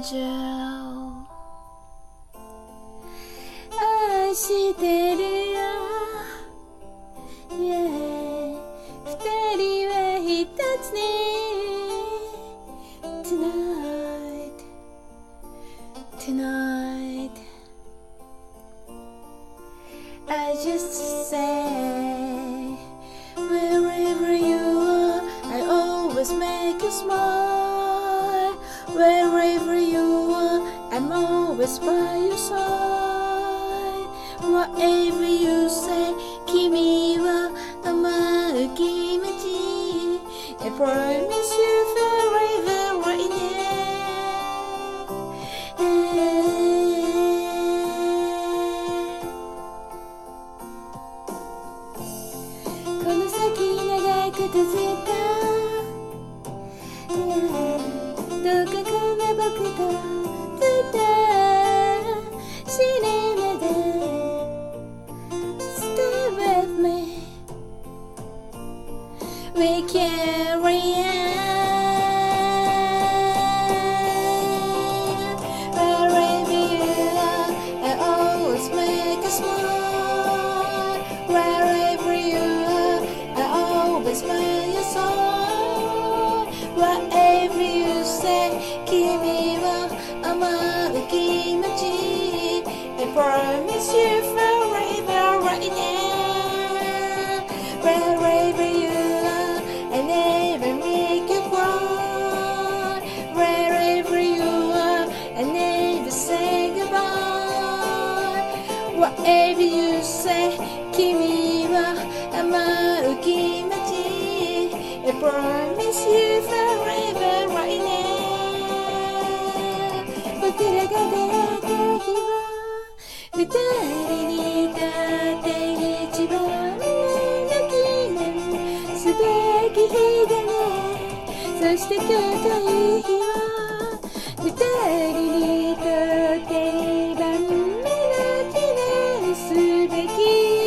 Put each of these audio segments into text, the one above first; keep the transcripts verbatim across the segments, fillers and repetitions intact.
angel 愛してるよ Yeah 二人は一つに Tonight Tonight I just say wherever you are I always make you smile Wherever you are I'm always by your side Whatever you say 君は甘う気持ち I promise you forever right nowこの先長く続いた どこかな僕と二人目で Stay with me We carry on Wherever you are I always make a smile Wherever you are I always by your side Whatever you say 君は甘う気持ち I promise you forever right now Wherever you are I never make you cry Wherever you are I never say goodbye Whatever you say 君は甘う気持ち I promise you forever right now 僕らが出会った日は二人にとって一番の記念すべき日だねそして今日という日は二人にとって二番目の記念すべき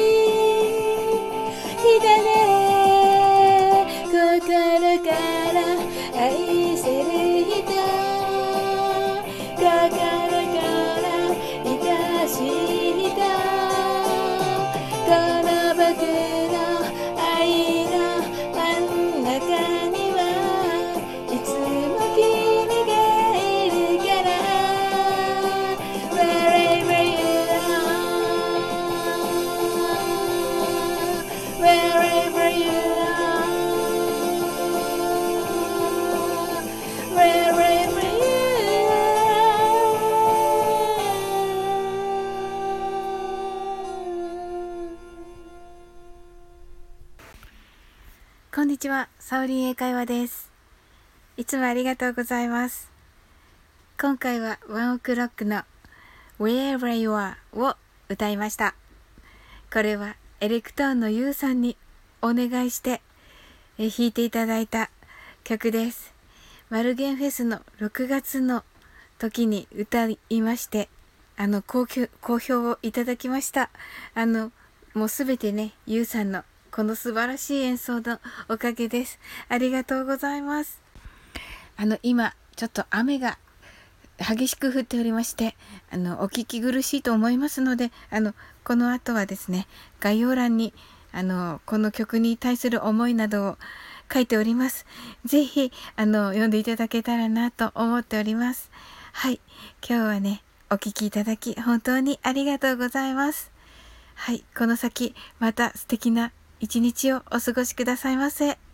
日だね心から愛せる人心から愛しい人この僕の愛の真ん中にはいつも君がいるから Wherever you are Wherever you are Wherever you are こんにちは、サオリン英会話です。いつもありがとうございます。今回はワンオクロックの Wherever You Are を歌いました。これはエレクトーンのユウさんにお願いしてえ弾いていただいた曲です。マルゲンフェスのろくがつの時に歌いまして、あの好評、好評をいただきました。あの、もうすべてね、ユウさんのこの素晴らしい演奏のおかげです。ありがとうございます。あの、今、ちょっと雨が激しく降っておりまして、あの、お聞き苦しいと思いますので、あの、この後はですね、概要欄に、あの、この曲に対する思いなどを書いております。ぜひ、あの、読んでいただけたらなと思っております。はい。今日はね、お聞きいただき、本当にありがとうございます。はい。この先、また素敵な一日をお過ごしくださいませ。